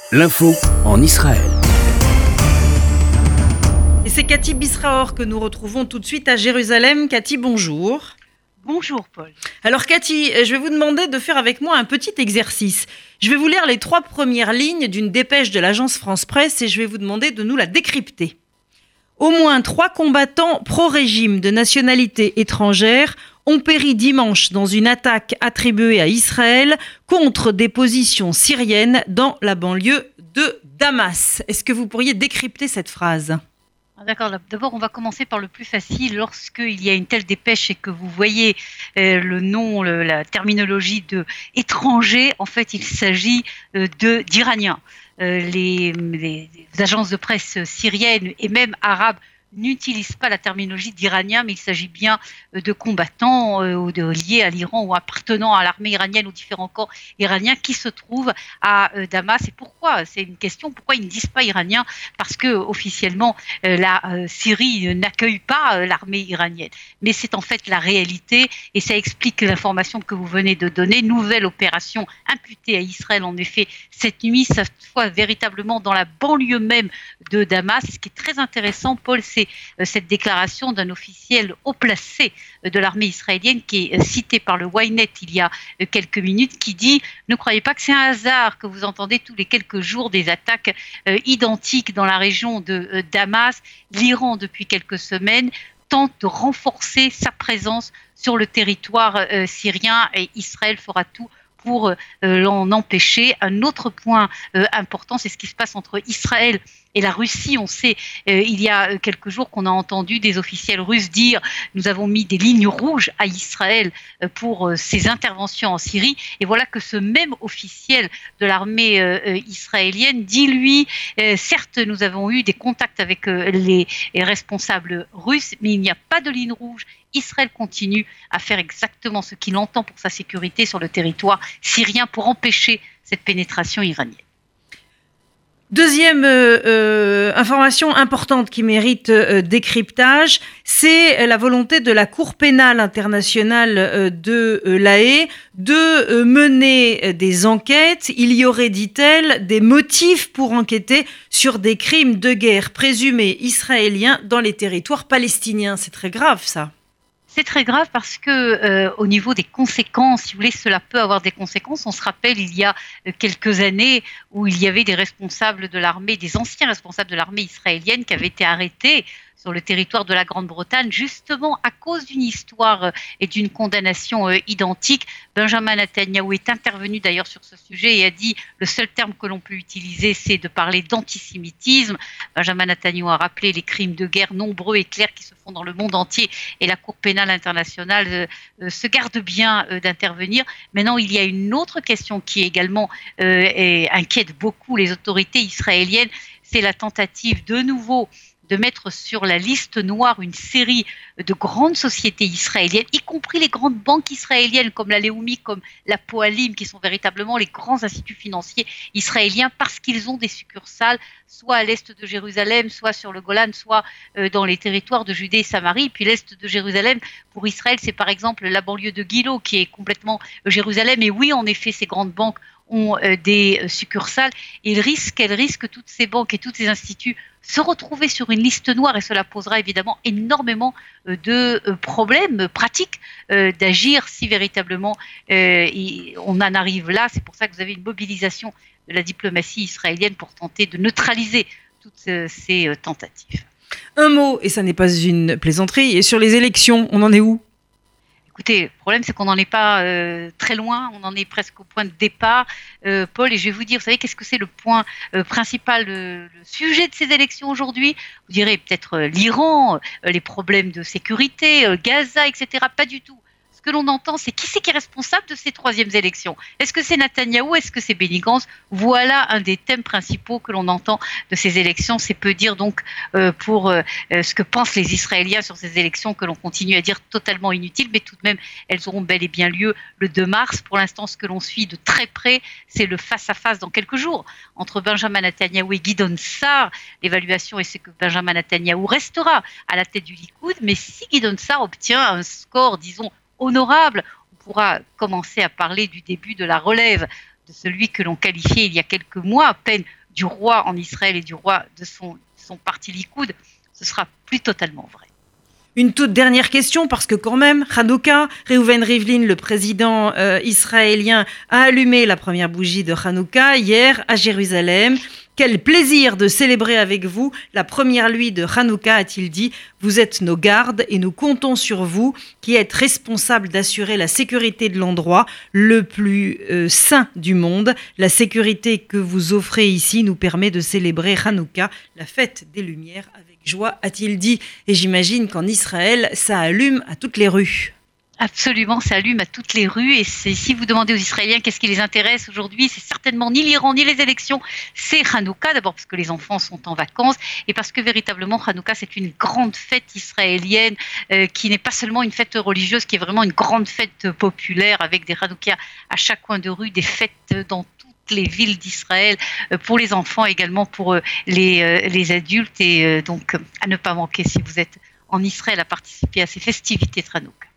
L'info en Israël. Et c'est Cathy Bisraor que nous retrouvons tout de suite à Jérusalem. Cathy, bonjour. Bonjour Paul. Alors Cathy, je vais vous demander de faire avec moi un petit exercice. Je vais vous lire les 3 premières lignes d'une dépêche de l'agence France Presse et je vais vous demander de nous la décrypter. Au moins 3 combattants pro-régime de nationalité étrangère ont péri dimanche dans une attaque attribuée à Israël contre des positions syriennes dans la banlieue de Damas. Est-ce que vous pourriez décrypter cette phrase ? D'accord, d'abord on va commencer par le plus facile. Lorsqu'il y a une telle dépêche et que vous voyez le nom, la terminologie de étranger, en fait il s'agit d'Iraniens. Les agences de presse syriennes et même arabes n'utilisent pas la terminologie d'Iraniens, mais il s'agit bien de combattants liés à l'Iran ou appartenant à l'armée iranienne ou différents corps iraniens qui se trouvent à Damas. Et pourquoi ? C'est une question, pourquoi ils ne disent pas Iraniens ? Parce que officiellement la Syrie n'accueille pas l'armée iranienne. Mais c'est en fait la réalité et ça explique l'information que vous venez de donner. Nouvelle opération imputée à Israël en effet cette nuit, cette fois véritablement dans la banlieue même de Damas. Ce qui est très intéressant, Paul, c'est cette déclaration d'un officiel haut placé de l'armée israélienne qui est cité par le Ynet il y a quelques minutes, qui dit « Ne croyez pas que c'est un hasard que vous entendez tous les quelques jours des attaques identiques dans la région de Damas. L'Iran, depuis quelques semaines, tente de renforcer sa présence sur le territoire syrien et Israël fera tout pour l'en empêcher. » Un autre point important, c'est ce qui se passe entre Israël et la Russie. On sait, il y a quelques jours qu'on a entendu des officiels russes dire « Nous avons mis des lignes rouges à Israël pour ses interventions en Syrie ». Et voilà que ce même officiel de l'armée israélienne dit, lui, certes, nous avons eu des contacts avec les responsables russes, mais il n'y a pas de ligne rouge. Israël continue à faire exactement ce qu'il entend pour sa sécurité sur le territoire syrien pour empêcher cette pénétration iranienne. Deuxième information importante qui mérite décryptage, c'est la volonté de la Cour pénale internationale de l'Haye de mener des enquêtes. Il y aurait, dit-elle, des motifs pour enquêter sur des crimes de guerre présumés israéliens dans les territoires palestiniens. C'est très grave, ça. C'est très grave parce que au niveau des conséquences, si vous voulez, cela peut avoir des conséquences. On se rappelle il y a quelques années où il y avait des responsables de l'armée, des anciens responsables de l'armée israélienne qui avaient été arrêtés sur le territoire de la Grande-Bretagne, justement à cause d'une histoire et d'une condamnation identique. Benjamin Netanyahou est intervenu d'ailleurs sur ce sujet et a dit le seul terme que l'on peut utiliser, c'est de parler d'antisémitisme. Benjamin Netanyahou a rappelé les crimes de guerre nombreux et clairs qui se font dans le monde entier et la Cour pénale internationale se garde bien d'intervenir. Maintenant, il y a une autre question qui également inquiète beaucoup les autorités israéliennes, c'est la tentative de nouveau de mettre sur la liste noire une série de grandes sociétés israéliennes, y compris les grandes banques israéliennes comme la Leumi, comme la Poalim, qui sont véritablement les grands instituts financiers israéliens parce qu'ils ont des succursales soit à l'est de Jérusalem, soit sur le Golan, soit dans les territoires de Judée et Samarie. Puis l'est de Jérusalem, pour Israël, c'est par exemple la banlieue de Gilo qui est complètement Jérusalem. Et oui, en effet, ces grandes banques ont des succursales. Et elles risquent toutes ces banques et tous ces instituts se retrouver sur une liste noire et cela posera évidemment énormément de problèmes pratiques d'agir si véritablement on en arrive là. C'est pour ça que vous avez une mobilisation de la diplomatie israélienne pour tenter de neutraliser toutes ces tentatives. Un mot, et ça n'est pas une plaisanterie, et sur les élections, on en est où ? Écoutez, le problème, c'est qu'on n'en est pas très loin, on en est presque au point de départ, Paul, et je vais vous dire, vous savez, qu'est-ce que c'est le point principal, le sujet de ces élections aujourd'hui ? Vous direz peut-être l'Iran, les problèmes de sécurité, Gaza, etc. Pas du tout. Ce que l'on entend, c'est qui c'est qui est responsable de ces troisièmes élections ? Est-ce que c'est Netanyahou ? Est-ce que c'est Benny Gantz ? Voilà un des thèmes principaux que l'on entend de ces élections. C'est peu dire donc pour ce que pensent les Israéliens sur ces élections que l'on continue à dire totalement inutiles, mais tout de même, elles auront bel et bien lieu le 2 mars. Pour l'instant, ce que l'on suit de très près, c'est le face-à-face dans quelques jours entre Benjamin Netanyahou et Gideon Sa'ar. L'évaluation est que Benjamin Netanyahou restera à la tête du Likoud, mais si Gideon Sa'ar obtient un score, disons, honorable, on pourra commencer à parler du début de la relève de celui que l'on qualifiait il y a quelques mois à peine du roi en Israël et du roi de son parti Likoud, ce sera plus totalement vrai. Une toute dernière question, parce que quand même, Hanouka, Reuven Rivlin, le président israélien, a allumé la première bougie de Hanouka hier à Jérusalem. Quel plaisir de célébrer avec vous la première nuit de Hanouka, a-t-il dit. Vous êtes nos gardes et nous comptons sur vous, qui êtes responsables d'assurer la sécurité de l'endroit le plus saint du monde. La sécurité que vous offrez ici nous permet de célébrer Hanouka, la fête des Lumières, avec joie, a-t-il dit. Et j'imagine qu'en Israël, ça allume à toutes les rues. Absolument, ça allume à toutes les rues. Et si vous demandez aux Israéliens qu'est-ce qui les intéresse aujourd'hui, c'est certainement ni l'Iran ni les élections, c'est Hanouka. D'abord parce que les enfants sont en vacances et parce que véritablement Hanouka, c'est une grande fête israélienne qui n'est pas seulement une fête religieuse, qui est vraiment une grande fête populaire avec des Hanoukas à chaque coin de rue, des fêtes dans toutes les villes d'Israël, pour les enfants également, pour les adultes. Et donc à ne pas manquer si vous êtes en Israël à participer à ces festivités de Hanouka.